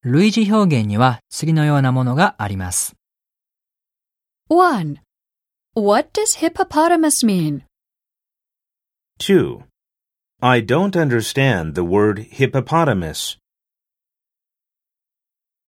類似表現には次のようなものがあります。 1. What does hippopotamus mean? 2. I don't understand the word hippopotamus.